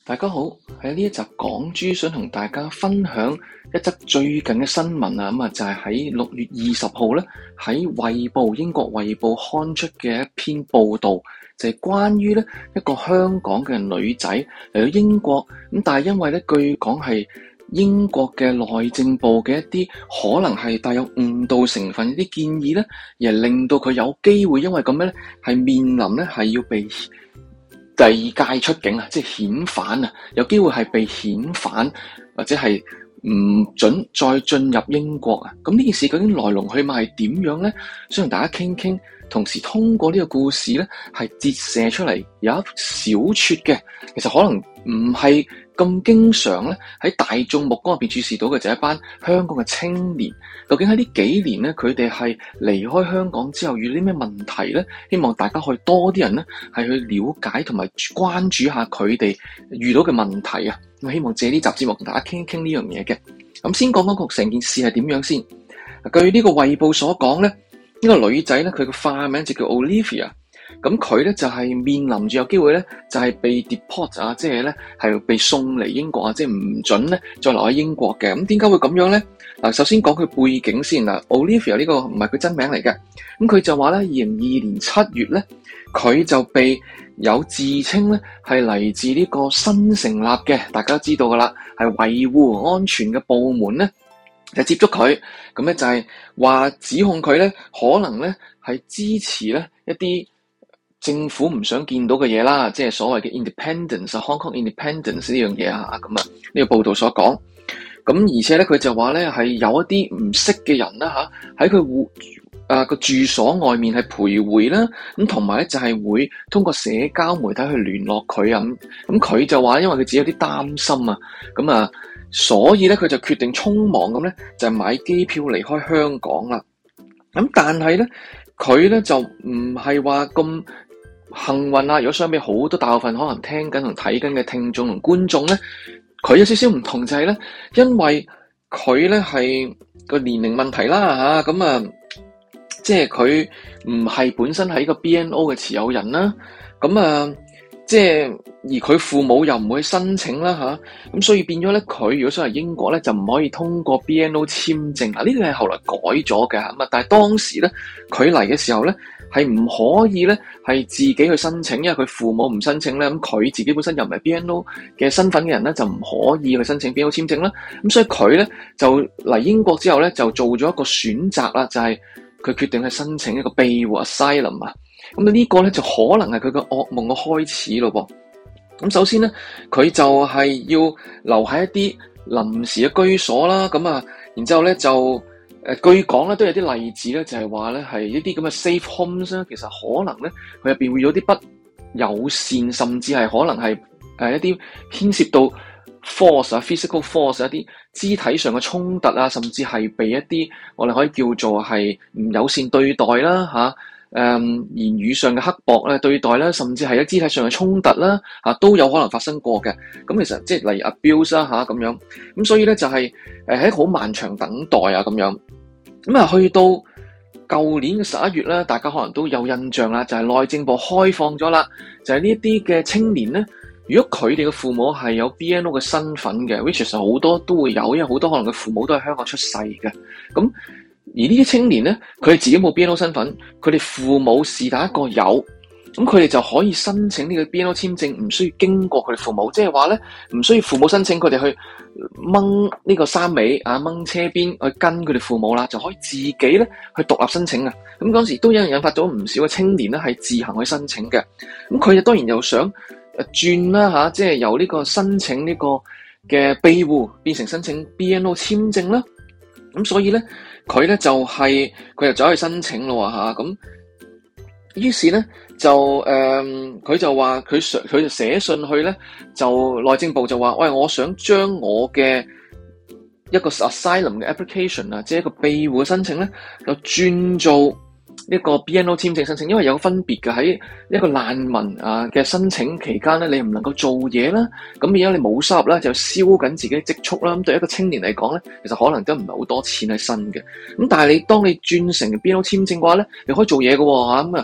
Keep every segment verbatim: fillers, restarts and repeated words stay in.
大家好，喺呢一集港珠想同大家分享一則最近嘅新聞啊，咁啊就係喺六月二十號咧喺衛報英國衛報刊出嘅一篇報道，就係關於咧一個香港嘅女仔嚟到英國，咁但係因為咧據講係英國嘅內政部嘅一啲可能係帶有誤導成分一啲建議咧，而係令到佢有機會因為咁樣咧係面臨咧係要被第二屆出境啊，即係遣返啊，有機會係被遣返或者係唔准再進入英國啊。咁呢件事究竟來龍去脈係點樣咧？想同大家傾傾，同時通過呢個故事咧，係折射出嚟有一小撮嘅，其實可能唔係咁經常咧喺大眾目光入邊注視到嘅，就係一班香港嘅青年。究竟喺呢幾年咧，佢哋係離開香港之後遇到啲咩問題咧？希望大家可以多啲人咧係去了解同埋關注下佢哋遇到嘅問題啊！咁希望借呢集節目同大家傾一傾呢樣嘢嘅。咁先講講個成件事係點樣先。據呢個衛報所講咧，呢個女仔咧佢個化名就叫 Olivia。咁佢咧就係面臨住有機會咧，就係被 deport 啊，即係咧係被送嚟英國啊，即係唔准咧再留喺英國嘅。咁點解會咁樣咧？嗱，首先講佢背景先啦。Olivia 呢個唔係佢真名嚟嘅。咁佢就話咧，二零二二年七月咧，佢就被有自稱咧係嚟自呢個新成立嘅，大家都知道噶啦，係維護安全嘅部門咧，就接觸佢。咁咧就係話指控佢咧，可能咧係支持咧一啲政府唔想見到嘅嘢啦，即係所謂嘅 independence、Hong Kong independence 呢樣嘢啊，咁啊呢個報道所講。咁而且咧佢就話咧係有一啲唔識嘅人啦嚇，喺佢戶啊個住所外面係徘徊啦，咁同埋咧就係會通過社交媒體去聯絡佢啊，咁咁佢就話因為佢自己有啲擔心啊，咁啊所以咧佢就決定匆忙咁咧就買機票離開香港啦。咁但係咧佢咧就唔係話咁幸運啊！如果相比好多大部分可能聽緊同睇緊嘅聽眾同觀眾咧，佢有少少唔同就係咧，因為佢咧係個年齡問題啦嚇，咁啊，即係佢唔係本身係一個 B N O 嘅持有人啦，咁啊，即係而佢父母又唔會申請啦嚇，咁所以變咗咧，佢如果想嚟英國咧，就唔可以通過 B N O 簽證嗱，呢個係後來改咗嘅咁啊，但係當時咧佢嚟嘅時候咧，係唔可以咧，係自己去申請，因為佢父母唔申請咧，咁佢自己本身又唔係 B N O 嘅身份嘅人咧，就唔可以去申請 B N O 簽證啦。咁所以佢咧就嚟英國之後咧，就做咗一個選擇啦，就係佢決定去申請一個庇護 asylum 啊。咁呢個咧就可能係佢嘅噩夢嘅開始咯噃。咁首先咧，佢就係要留喺一啲臨時嘅居所啦。咁啊，然之後咧就。誒據講咧都有啲例子咧，就係話咧係一啲咁嘅 safe homes 咧，其實可能咧佢入邊會有啲不友善，甚至係可能係誒一啲牽涉到 force 啊 physical force 一啲肢體上嘅衝突啊，甚至係被一啲我哋可以叫做係唔友善對待啦嚇，誒、啊嗯、言語上嘅刻薄咧對待啦，甚至係喺肢體上嘅衝突啦嚇、啊、都有可能發生過嘅。咁其實即係例如 abuse 啦嚇咁樣，咁所以咧就係誒喺好漫長等待啊咁樣。咁啊，去到舊年嘅十一月咧，大家可能都有印象啦，就係內政部開放咗啦，就係呢一啲嘅青年咧，如果佢哋嘅父母係有 B N O 嘅身份嘅 which 其實好多都會有，因為好多可能嘅父母都係香港出世嘅。咁而呢啲青年咧，佢哋自己冇 B N O 身份，佢哋父母是但一個有。咁佢哋就可以申請呢個 B N O 簽證，唔需要經過佢哋父母，即係話咧，唔需要父母申請，佢哋去掹呢個衫尾啊，掹車邊去跟佢哋父母啦，就可以自己咧去獨立申請啊。咁嗰時都有人引發咗唔少嘅青年咧，係自行去申請嘅。咁佢哋當然又想誒轉啦吓，即係由呢個申請呢個嘅庇護變成申請 B N O 簽證啦。咁所以咧，佢咧就係佢又走去申請咯吓咁。於是咧就誒，佢、呃、就話佢佢就寫信去咧，就內政部就話，喂，我想將我嘅一個 asylum 嘅 application 啊，即係一個庇護嘅申請咧，就轉做一個 B N O 簽證申請，因為有分別嘅，喺一個難民啊嘅申請期間咧，你唔能夠做嘢啦，咁而家你冇收入啦，就燒緊自己積蓄啦。咁對一個青年嚟講咧，其實可能都唔係好多錢喺身嘅。咁但係你當你轉成 B N O 簽證嘅話咧，你可以做嘢嘅喎嚇咁啊。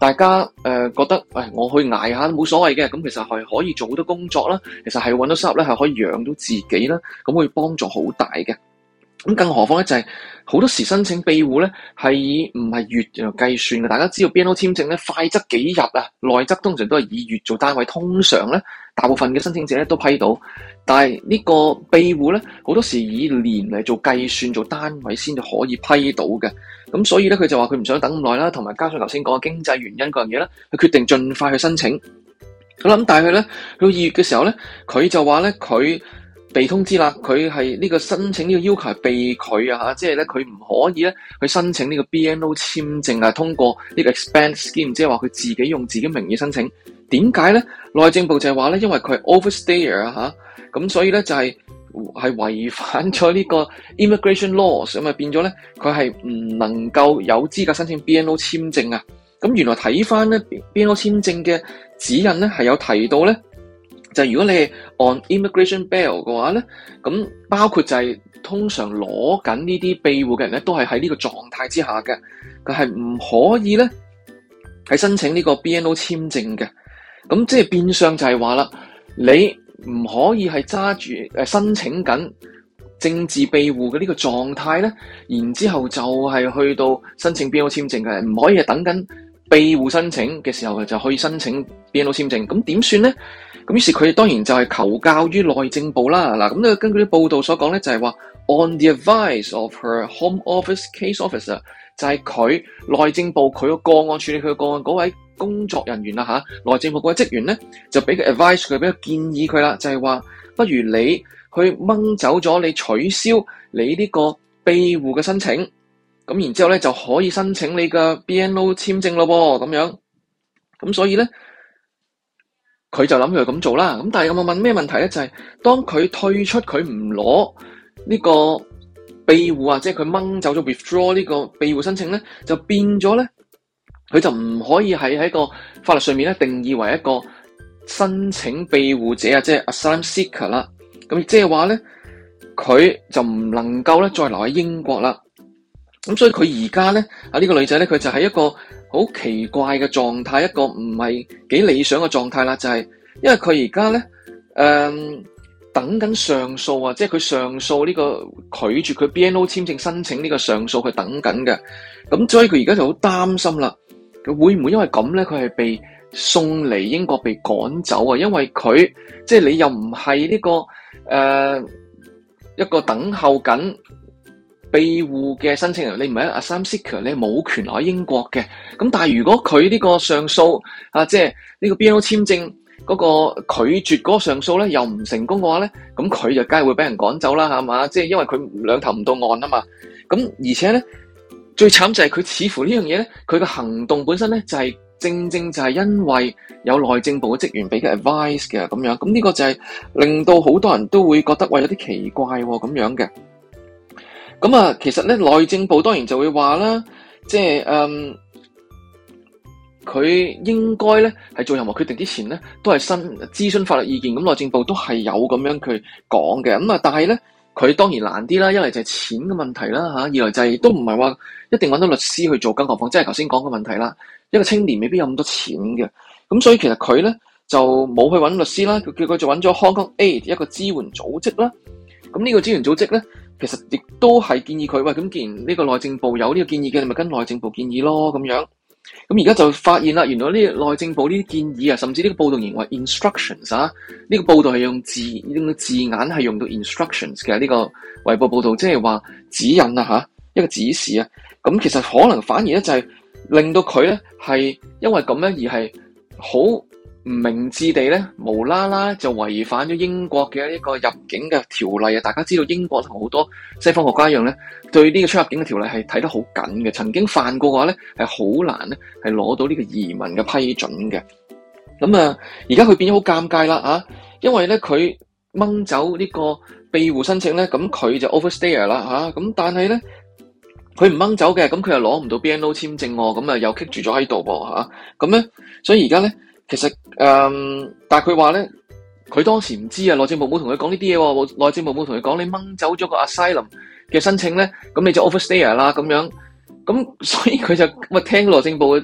大家誒、呃、覺得，誒、哎、我去捱下都冇所謂嘅，咁其實係可以做好多工作啦，其實係揾到收入咧，係可以養到自己啦，咁會幫助好大嘅。咁更何況咧，就係、是、好多時申請庇護咧係以唔係月嚟計算嘅。大家知道 B N O 簽證咧快則幾日啊，內則通常都係以月做單位。通常咧，大部分嘅申請者咧都批到，但係呢個庇護咧好多時以年嚟做計算做單位先至可以批到嘅。咁所以咧，佢就話佢唔想等咁耐啦，同埋加上頭先講嘅經濟原因嗰樣嘢咧，佢決定盡快去申請。好啦，咁但係佢咧去到二月嘅時候咧，佢就話咧佢被通知啦，佢係呢個申請呢個要求係被拒啊，即係咧佢唔可以咧去申請呢個 B N O 簽證啊，通過呢個 expand scheme， 即係話佢自己用自己名義申請。點解咧？內政部就係話咧，因為佢係 overstayer 啊吓，咁所以咧就係係違反咗呢個 immigration laws，咁啊變咗咧佢係唔能夠有資格申請 B N O 簽證啊。咁原來睇翻咧 B N O 簽證嘅指引咧係有提到咧。就係如果你係 on immigration bail 嘅話咧，咁包括就係通常攞緊呢啲庇護嘅人咧，都係喺呢個狀態之下嘅，佢係唔可以咧係申請呢個 B N O 簽證嘅。咁即係變相就係話啦，你唔可以係揸住誒申請緊政治庇護嘅呢個狀態咧，然之後就係去到申請 B N O 簽證嘅，唔可以係等緊庇護申請嘅時候就可以申請 B N O 簽證。咁點算咧？咁於是佢當然就係求教於內政部啦。嗱，咁咧根據啲報道所講咧，就係話 on the advice of her home office case officer， 就係佢內政部佢個個案處理佢個個案嗰位工作人員啦吓，內政部嗰位職員咧就俾個 advice 佢，俾個建議佢啦，就係話不如你去掹走咗你取消你呢個庇護嘅申請，咁然之後咧就可以申請你嘅 B N O 簽證咯噃，咁樣。咁所以咧。佢就諗佢咁做啦，咁但係有冇問咩問題咧？就係、是、當佢退出佢唔攞呢個庇護啊，即係佢掹走咗 withdraw 呢個庇護申請咧，就變咗咧，佢就唔可以係喺個法律上面咧定義為一個申請庇護者啊，即係 asylum seeker 啦。咁即係話咧，佢就唔能夠咧再留喺英國啦。咁所以佢而家咧啊呢、呢個女仔咧，佢就係一個好奇怪嘅狀態，一個唔係幾理想嘅狀態啦，就係、是、因為佢而家咧，誒、嗯、等緊上訴啊，即係佢上訴呢個拒絕佢 B N O 簽證申請呢個上訴，佢等緊嘅。咁所以佢而家就好擔心啦，佢會唔會因為咁咧，佢係被送嚟英國被趕走啊？因為佢即係你又唔係呢個誒、呃、一個等候緊庇護嘅申請人，你唔係 asylum seeker， 你冇權留喺英國嘅。咁但係如果佢呢個上訴啊，即係呢個 B N O 簽證嗰個拒絕嗰個上訴咧，又唔成功嘅話咧，咁佢就梗係會俾人趕走啦，係嘛？即係因為佢兩頭唔到岸啊嘛。咁而且咧，最慘就係佢似乎呢樣嘢咧，佢嘅行動本身咧就係、是、正正就係因為有內政部嘅職員俾嘅 advice 嘅咁樣。咁呢個就係令到好多人都會覺得喂有啲奇怪喎、哦、咁樣嘅。咁啊，其實咧內政部當然就會話啦，即係誒，佢、嗯、應該咧係做任何決定之前咧，都係新諮詢法律意見。咁內政部都係有咁樣佢講嘅。咁啊，但係咧佢當然難啲啦，一嚟就係錢嘅問題啦嚇，二來就係都唔係話一定揾到律師去做，更何況即係頭先講嘅問題啦。一個青年未必有咁多錢嘅，咁所以其實佢咧就冇去揾律師啦，佢叫佢就揾咗 Hong Kong Aid 一個支援組織啦。咁呢個支援組織咧，其實亦都係建議佢，喂，咁既然呢個內政部有呢個建議嘅，你咪跟內政部建議咯，咁樣。咁而家就發現啦，原來呢個內政部呢啲建議啊，甚至呢個報道認為 instructions 啊，呢個報道係用字用個字眼係用到 instructions 嘅呢個衛報報道，即係話指引啊吓，一個指示啊。咁其實可能反而咧就係令到佢咧係因為咁樣而係好唔明智地咧，無啦啦就違反咗英國嘅一個入境嘅條例啊！大家知道英國同好多西方國家一樣咧，對呢個出入境嘅條例係睇得好緊嘅。曾經犯過嘅話咧，係好難咧係攞到呢個移民嘅批准嘅。咁啊，而家佢變咗好尷尬啦啊！因為咧佢掹走呢個庇護申請咧，咁佢就 overstay 啦吓。咁但係咧佢唔掹走嘅，咁佢又攞唔到 B N O 簽證喎，咁啊又棘住咗喺度噃吓。咁咧，所以而家咧。其實誒、嗯，但係佢話咧，佢當時唔知啊，內政部冇同佢講呢啲嘢喎，內政部冇同佢講你掹走咗個 asylum 嘅申請咧，咁你就 overstay 啦咁樣，咁所以佢就咁啊聽內政部嘅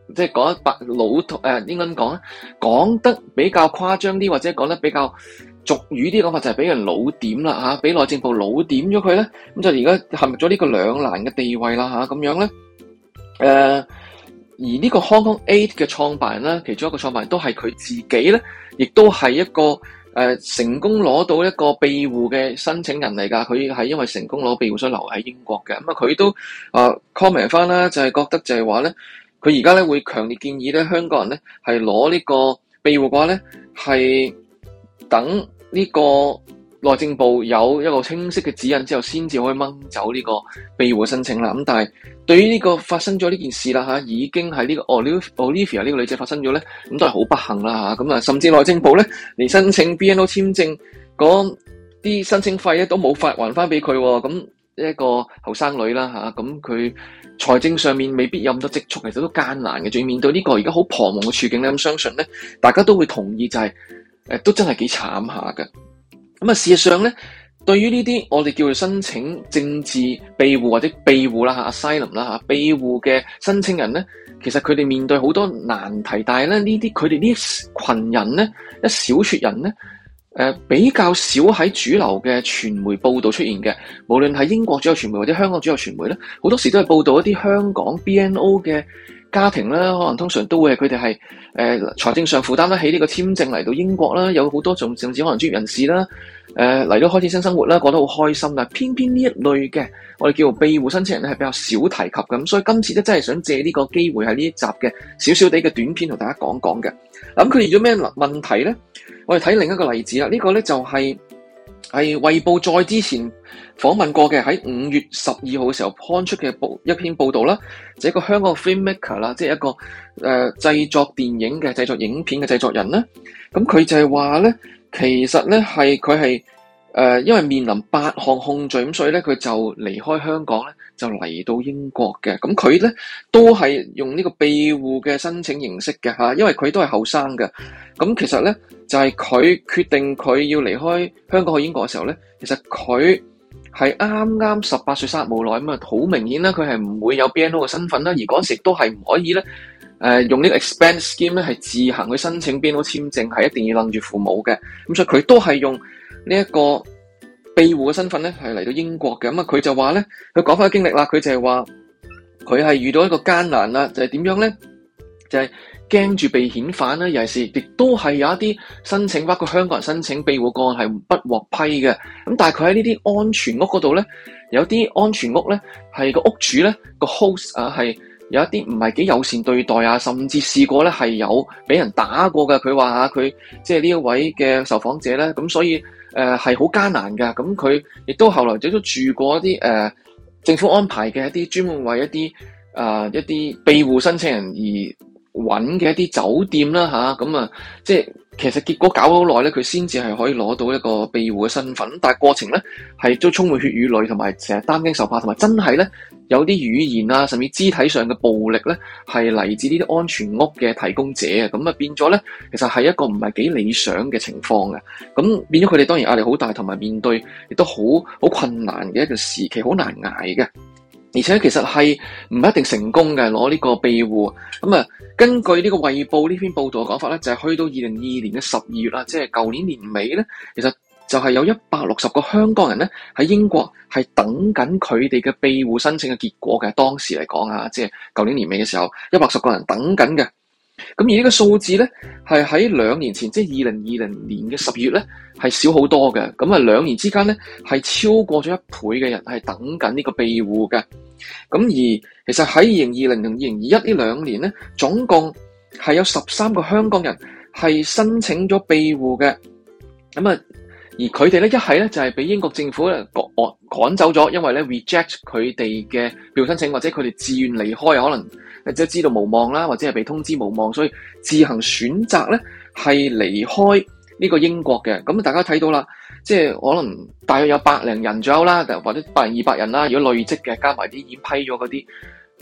即係講得白老土誒，應該咁講咧，講得比較誇張啲，或者講得比較俗語啲講法，就係俾人老點啦嚇，俾內政部老點咗佢咧，咁就而家陷入咗呢個兩難嘅地位啦嚇，咁樣咧誒、呃，而呢個 Hong Kong Eight 嘅創辦人啦，其中一個創辦人都係佢自己咧，亦都係一個誒、呃、成功攞到一個庇護嘅申請人嚟㗎，佢係因為成功攞庇護所以留喺英國嘅，咁啊佢都啊 comment 翻啦，就係覺得就係話咧。佢而家咧會強烈建議咧香港人咧係攞呢個庇護嘅話咧係等呢個內政部有一個清晰嘅指引之後，先至可以掹走呢個庇護申請啦。咁但係對於呢個發生咗呢件事啦嚇，已經係呢個 Olivia 呢個女仔發生咗咧，咁都係好不幸啦嚇。咁啊，甚至內政部咧連申請 B N O 簽證嗰啲申請費咧都冇發還翻俾佢喎。咁一個後生女啦嚇，咁佢財政上面未必有咁多積蓄，其實都艱難嘅。仲要面對呢個而家好彷徨嘅處境咧，咁相信咧，大家都會同意就係、是、誒，都真係幾慘下嘅。咁啊，事實上咧，對於呢啲我哋叫做申請政治庇護或者庇護啦嚇 asylum 啦嚇庇護嘅申請人咧，其實佢哋面對好多難題，但係咧呢啲佢哋呢群人咧，一小撮人咧。誒、呃、比較少喺主流嘅傳媒報導出現嘅，無論係英國主流傳媒或者香港主流傳媒咧，好多時都係報導一啲香港 B N O 嘅家庭啦，可能通常都會係佢哋係誒財政上負擔得起呢個簽證嚟到英國啦，有好多仲甚至可能專業人士啦，誒嚟到開始新生活啦，過得好開心，但係偏偏呢一類嘅我哋叫做庇護申請人咧係比較少提及嘅，咁所以今次咧真係想借呢個機會喺呢一集嘅少少地嘅短片同大家講講嘅。咁佢遇咗咩問題咧？我哋睇另一個例子啦，呢、這個咧就係係衛報再之前訪問過嘅，喺五月十二號嘅時候刊出嘅報一篇報道啦，就係、一個香港 filmmaker 啦，即係一個誒、呃、製作電影嘅製作影片嘅製作人啦。咁佢就係話咧，其實咧係佢係誒因為面臨八項控罪，咁所以咧佢就離開香港咧，就嚟到英國嘅。咁佢咧都係用呢個庇護嘅申請形式嘅嚇，因為佢都係後生嘅。咁其實咧就係、是、佢決定佢要離開香港去英國嘅時候咧，其實佢係啱啱十八歲生日冇耐，咁啊好明顯啦，佢係唔會有 B N O 嘅身份啦，而嗰時亦都係唔可以咧誒、呃、用呢個 expense scheme 咧係自行去申請 B N O 簽證，係一定要楞住父母嘅。咁所以佢都係用呢一個庇護嘅身份咧係嚟到英國嘅。咁啊佢就話咧，佢講翻個經歷啦，佢就係話佢係遇到一個艱難啦，就係、是、點樣咧？就係、是。驚住被遣返啦，尤其是亦都係有一啲申請，包括香港人申請庇護個案係不獲批嘅。咁但係佢喺呢啲安全屋嗰度咧，有啲安全屋咧係個屋主咧個 host 啊係有一啲唔係幾友善對待啊，甚至試過咧係有俾人打過嘅。佢話啊，佢即係呢一位嘅受訪者咧，咁所以誒係好艱難㗎。咁佢亦都後來亦都住過一啲誒、呃、政府安排嘅一啲專門為一啲啊、呃、一啲庇護申請人而揾嘅一啲酒店啦吓，咁啊，即係其實結果搞咗好耐咧，佢先至係可以攞到一個庇護嘅身份，但係過程咧係都充滿血與淚，同埋成日擔驚受怕，同埋真係咧有啲語言啊，甚至肢體上嘅暴力咧係嚟自呢啲安全屋嘅提供者啊，咁啊變咗咧，其實係一個唔係幾理想嘅情況嘅，咁變咗佢哋當然壓力好大，同埋面對亦都好好困難嘅一個時期，好難捱嘅。而且其實係唔一定成功嘅攞呢個庇護，咁啊根據呢個衛報呢篇報道嘅講法咧，就係、是、去到二零二二年嘅十二月啦，即係舊年年尾咧，其實就係有一百六十個香港人咧喺英國係等緊佢哋嘅庇護申請嘅結果嘅。當時嚟講啊，即係舊年年尾嘅時候，一百六十個人等緊嘅。咁而呢個數字咧，係喺兩年前，即係二零二零年嘅十月咧，係少好多嘅。咁啊，兩年之間咧，係超過咗一倍嘅人係等緊呢個庇護嘅。咁而其實喺二零二零同二零二一呢兩年咧，總共係有十三個香港人係申請咗庇護嘅。咁啊，而佢哋咧一係咧就係俾英國政府咧趕趕走咗，因為咧 reject 佢哋嘅庇護申請，或者佢哋自願離開，可能即係知道無望啦，或者係被通知無望，所以自行選擇咧係離開呢個英國嘅。咁大家睇到啦，即係可能大約有百零人左右啦，或者百零二百人啦。如果累積嘅加埋啲已經批咗嗰啲，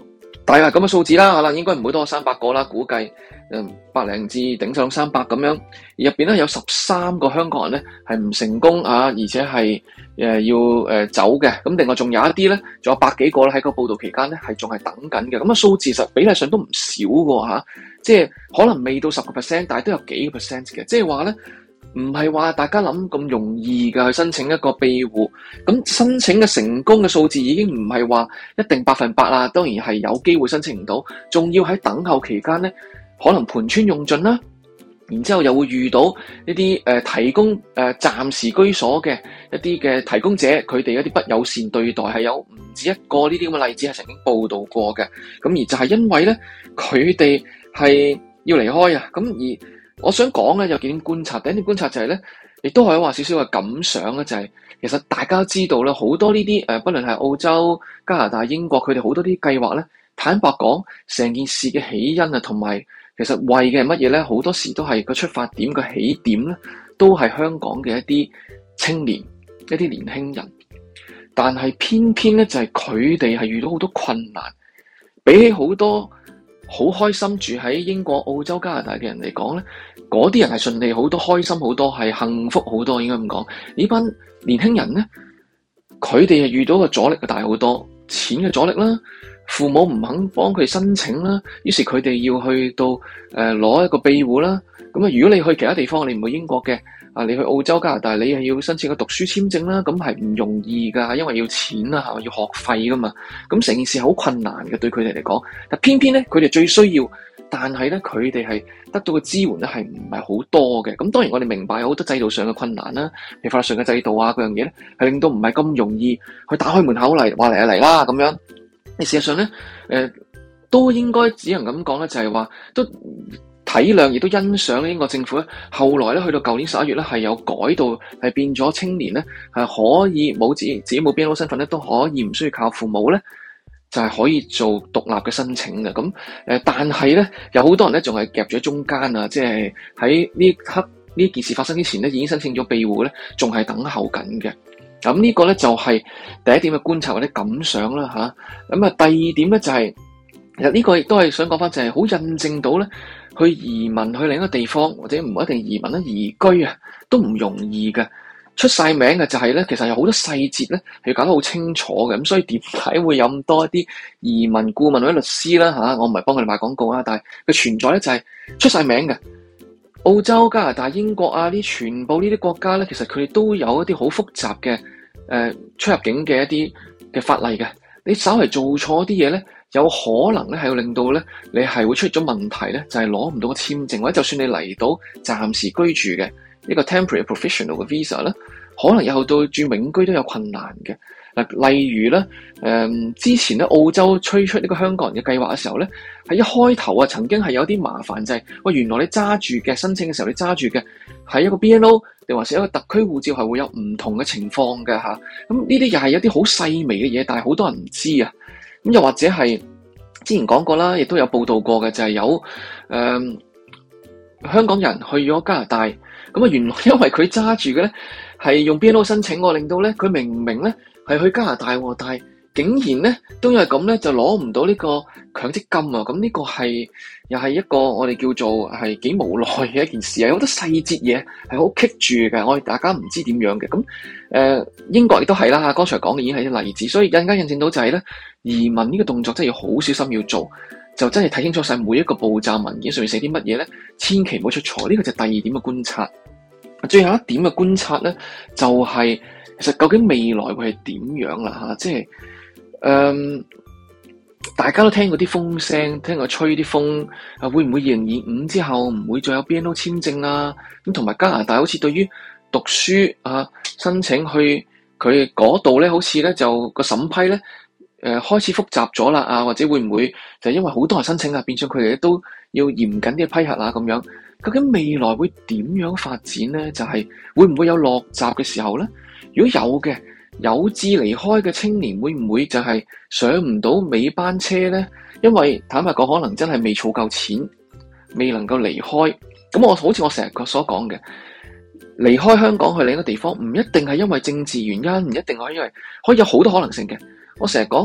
大約咁嘅數字啦，可能應該唔會多過三百個啦，估計誒百零至頂上三百咁樣。而入邊咧有十三個香港人咧係唔成功啊，而且係誒要誒走嘅。咁另外仲有一啲咧，仲有百幾個咧喺個報道期間咧係仲係等緊嘅。咁啊數字實比例上都唔少嘅吓，即係可能未到十個 percent，但係都有幾個 percent 嘅。即係話咧，唔係話大家諗咁容易嘅去申請一個庇護。咁申請嘅成功嘅數字已經唔係話一定百分百啦，當然係有機會申請唔到，仲要喺等候期間咧，可能盤川用盡啦。然之後又會遇到一啲誒、呃、提供誒、呃、暫時居所嘅一啲嘅提供者，佢哋一啲不友善對待，係有唔止一個呢啲咁嘅例子係曾經報道過嘅。咁而就係因為咧，佢哋係要離開啊。咁而我想講咧有幾點觀察，第一點觀察就係咧，亦都可以話少少嘅感想咧，就係、是、其實大家都知道咧，好多呢啲誒，不論係澳洲、加拿大、英國，佢哋好多啲計劃咧，坦白講，成件事嘅起因啊，同埋其實為嘅係乜嘢咧？好多時都係個出發點個起點咧，都係香港嘅一啲青年、一啲年輕人。但係偏偏咧，就係佢哋係遇到好多困難，比起好多好開心住喺英國、澳洲、加拿大嘅人嚟講咧，嗰啲人係順利好多、開心好多、係幸福好多。應該咁講，呢班年輕人咧，佢哋係遇到嘅阻力嘅大好多，錢嘅阻力啦。父母唔肯幫佢申請啦，於是佢哋要去到誒攞、呃、一個庇護啦。咁啊，如果你去其他地方，你唔去英國嘅啊，你去澳洲、加拿大，你係要申請個讀書簽證啦，咁係唔容易噶，因為要錢啊，係要學費噶嘛。咁成件事好困難嘅，對佢哋嚟講。但偏偏咧，佢哋最需要，但係咧，佢哋係得到嘅支援咧，係唔係好多嘅。咁當然我哋明白有好多制度上嘅困難啦，譬如法律上嘅制度啊，嗰樣嘢咧，係令到唔係咁容易去打開門口嚟話嚟啊嚟啦咁樣。你事實上咧，誒、呃、都應該只能咁講咧，就係話都體諒，亦都欣賞英國政府咧。後來咧，去到舊年十一月咧，係有改到係變咗青年咧，係可以冇自己自己冇 B N O 身份咧，都可以唔需要靠父母咧，就係、是、可以做獨立嘅申請嘅。咁誒，但係咧，有好多人咧仲係夾咗中間啊，即係喺呢刻呢件事發生之前咧，已經申請咗庇護咧，仲係等候緊嘅。咁呢個咧就係第一點嘅觀察或者感想啦吓。咁啊，第二點咧就係、是，其實呢個亦都係想講翻，就係好印證到咧，去移民去另一個地方或者唔一定移民啦，移居啊都唔容易嘅。出晒名嘅就係咧，其實有好多細節咧係要搞得好清楚嘅。咁所以點解會有咁多一啲移民顧問或者律師啦吓？我唔係幫佢哋賣廣告啊，但係佢存在咧就係出晒名嘅。澳洲、加拿大、英國啊，呢全部呢啲國家咧，其實佢哋都有一啲好複雜嘅誒、呃、出入境嘅一啲嘅法例嘅。你稍為做錯啲嘢咧，有可能咧係會令到咧你係會出咗問題咧，就係攞唔到個簽證，或者就算你嚟到暫時居住嘅一個 temporary professional 嘅 visa 咧，可能以後到住永居都有困難嘅。嗱，例如咧，誒、嗯、之前咧澳洲推出呢個香港人嘅計劃嘅時候咧，喺一開頭啊，曾經係有啲麻煩，就係、是、喂，原來你揸住嘅申請嘅時候，你揸住嘅係一個 B N O 定還是一個特區護照，係會有唔同嘅情況嘅吓。咁呢啲又係一啲好細微嘅嘢，但係好多人唔知啊。咁又或者係之前講過啦，亦都有報道過嘅，就係、是、有誒、嗯、香港人去咗加拿大，咁啊原來因為佢揸住嘅咧係用 B N O 申請，令到咧佢明明咧係去加拿大，但係竟然咧都因為咁咧就攞唔到呢個強積金啊！咁呢個係又係一個我哋叫做係幾無奈嘅一件事啊！有好多細節嘢係好棘住嘅，我哋大家唔知點樣嘅。咁誒、呃、英國亦都係啦，剛才講嘅已經係啲例子，所以更加印證到就係咧移民呢個動作真係要好小心要做，就真係睇清楚晒每一個步驟，文件上面寫啲乜嘢咧，千祈唔好出錯。呢個就係第二點嘅觀察。最後一點嘅觀察咧，就係、是、其實究竟未來會係點樣啦吓，即係誒、嗯，大家都聽過啲風聲，聽過吹啲風，啊會唔會二零二五之後唔會再有 B N O 簽證啊？咁同埋加拿大好似對於讀書啊申請去佢嗰度咧，好似咧就個審批咧誒、呃、開始複雜咗啦啊，或者會唔會就因為好多人申請啊，變相佢哋都要嚴謹啲批核啊咁樣？究竟未來會點樣發展咧？就係、是、會唔會有落閘嘅時候咧？如果有嘅，有志離開嘅青年會唔會就係上唔到尾班車咧？因為坦白講，可能真係未儲夠錢，未能夠離開。咁我好似我成日所講嘅，離開香港去另一個地方，唔一定係因為政治原因，唔一定係因為可以有好多可能性嘅。我成日講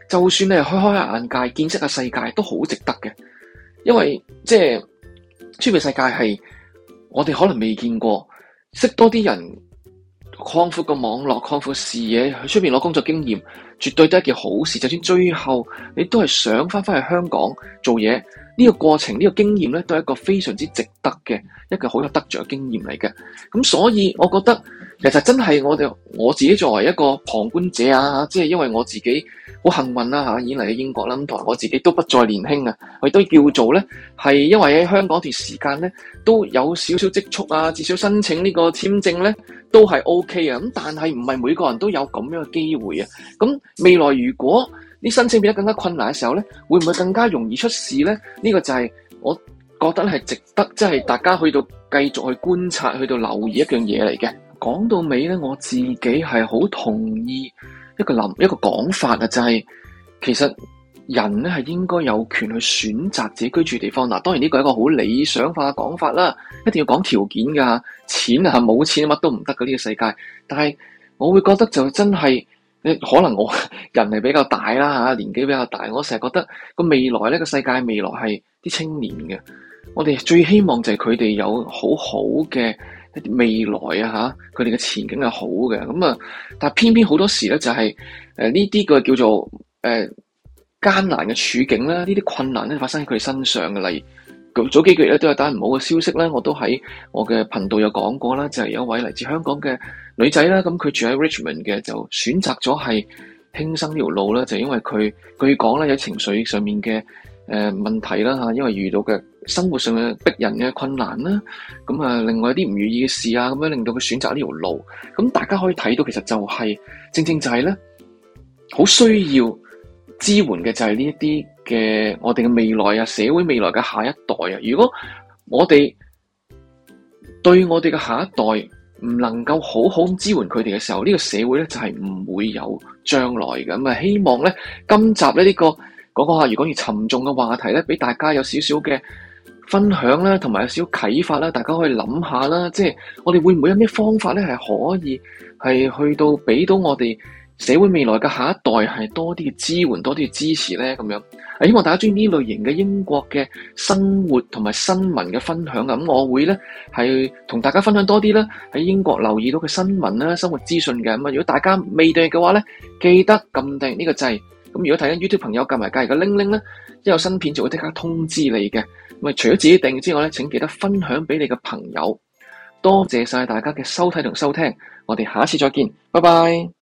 就算你係開開下眼界，見識下世界，都好值得嘅。因為即係出面世界係我哋可能未見過，識多啲人，擴闊個網絡，擴闊視野，去出面攞工作經驗，絕對都係一件好事。就算最後你都係想翻翻去香港做嘢，呢個過程，呢個經驗咧，都係一個非常之值得嘅一個好有得着嘅經驗嚟嘅。咁所以我覺得其實真係我哋我自己作為一個旁觀者啊，即係因為我自己好幸運啦嚇，已經嚟到英國啦，咁同埋我自己都不再年輕啊，我亦都叫做咧係因為喺香港段時間咧都有少少積蓄啊，至少申請呢個簽證咧都係 OK 啊。咁但係唔係每個人都有咁樣嘅機會啊。咁未來如果啲申請變得更加困難嘅時候咧，會唔會更加容易出事咧？呢個就係我覺得係值得，即係大家去到繼續去觀察，去到留意一樣嘢嚟嘅。講到尾咧，我自己係好同意一個諗一個講法啊，就係其實人咧係應該有權去選擇自己居住地方。嗱，當然呢個係一個好理想化嘅講法啦，一定要講條件㗎，錢啊冇錢乜都唔得嘅呢個世界。但係我會覺得就真係。可能我人係比較大啦嚇，年紀比較大，我成日覺得個未來呢個世界未來係啲青年嘅，我哋最希望就係佢哋有好好嘅一啲未來啊嚇，佢哋嘅前景係好嘅，咁啊，但係偏偏好多時咧就係誒呢啲個叫做誒、呃、艱難嘅處境啦，呢啲困難咧發生喺佢哋身上嘅，例如。早幾個月咧都有單唔好嘅消息咧，我都喺我嘅頻道有講過啦，就係、是、有一位嚟自香港嘅女仔啦，咁佢住喺 Richmond 嘅，就選擇咗係輕生呢條路啦，就因為佢據講咧有情緒上面嘅誒、呃、問題啦嚇，因為遇到嘅生活上嘅逼人嘅困難啦，咁啊另外一啲唔如意嘅事啊，咁樣令到佢選擇呢條路，咁大家可以睇到其實就係、是、正正就係咧好需要支援嘅就係呢一啲嘅我哋嘅未來啊，社會未來嘅下一代啊，如果我哋對我哋嘅下一代唔能夠好好咁支援佢哋嘅時候，呢個社會咧就係唔會有將來嘅。咁啊，希望咧今集咧呢個講講下，如果越沉重嘅話題咧，俾大家有少少嘅分享啦，同埋有少少啟發啦，大家可以諗下啦，即係我哋會唔會有咩方法咧係可以係去到俾到我哋社會未來嘅下一代係多啲嘅支援，多啲嘅支持咧，咁樣。希望大家中意呢類型嘅英國嘅生活同埋新聞嘅分享啊！咁我會咧係同大家分享多啲啦，喺英國留意到嘅新聞啦、生活資訊嘅。咁啊，如果大家未訂閱嘅話咧，記得撳訂呢個掣。咁如果睇緊 YouTube 朋友撳埋隔籬嘅鈴鈴咧，一有新片就會即刻通知你嘅。咁啊，除咗自己訂閱之外咧，請記得分享俾你嘅朋友。多謝晒大家嘅收睇同收聽，我哋下一次再見，拜拜。